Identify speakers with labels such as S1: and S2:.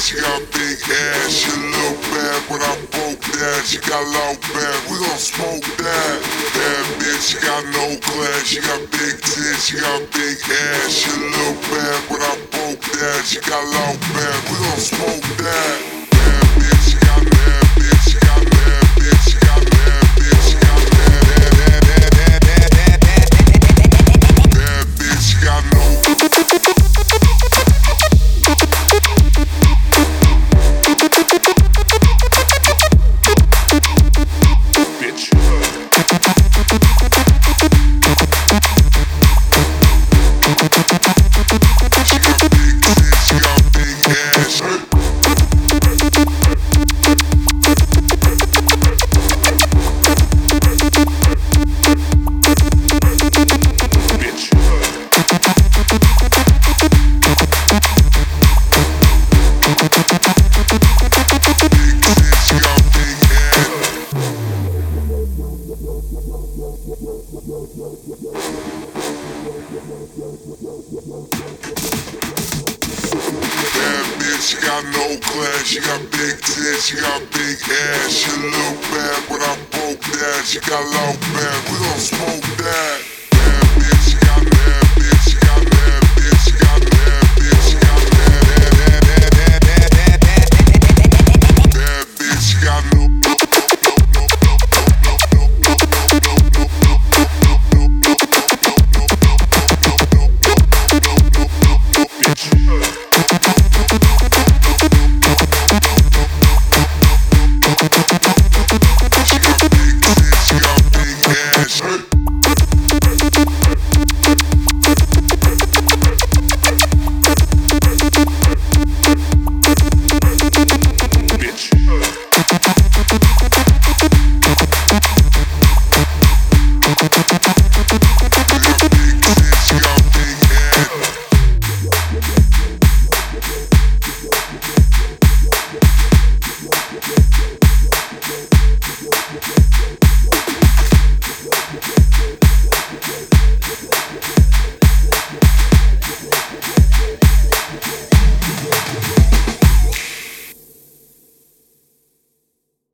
S1: she got big ass. She look bad when I broke that. She got loud bad, we gon' smoke that. Bad bitch, she got no class. She got big tits, she got big ass. She look bad when I broke that. She got loud bad, we gon' smoke that. Bad bitch, she got bad bitch, she got bad bitch, she got bad bitch, she got bad bitch, she got no. She got no class, she got big tits, she got big ass. She look bad when I broke that. She got loud bad, we gon' smoke